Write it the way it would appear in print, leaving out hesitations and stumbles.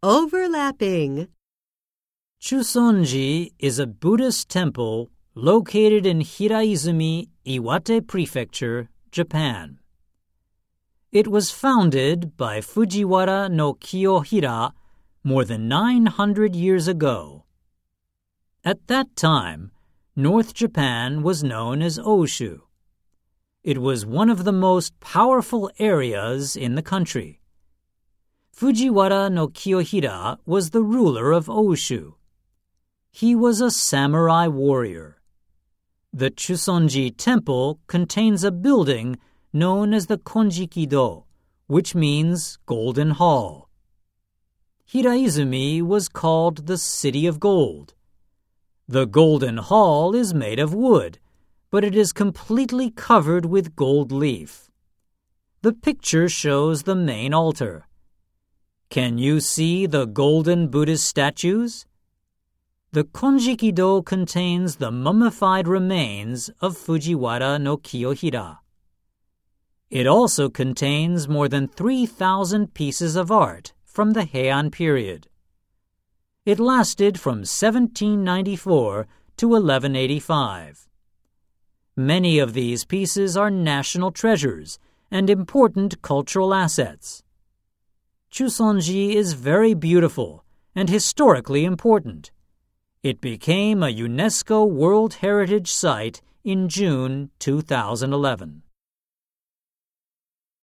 Overlapping. Chusonji is a Buddhist temple located in Hiraizumi, Iwate Prefecture, Japan. It was founded by Fujiwara no Kiyohira more than 900 years ago. At that time, North Japan was known as Oshu. It was one of the most powerful areas in the country. Fujiwara no Kiyohira was the ruler of Oshu. He was a samurai warrior. The Chusonji Temple contains a building known as the Konjikido, which means Golden Hall. Hiraizumi was called the City of Gold. The Golden Hall is made of wood, but it is completely covered with gold leaf. The picture shows the main altar. Can you see the golden Buddhist statues? The Konjikido contains the mummified remains of Fujiwara no Kiyohira. It also contains more than 3,000 pieces of art from the Heian period. It lasted from 1794 to 1185. Many of these pieces are national treasures and important cultural assets. Chusonji is very beautiful and historically important. It became a UNESCO World Heritage Site in June 2011.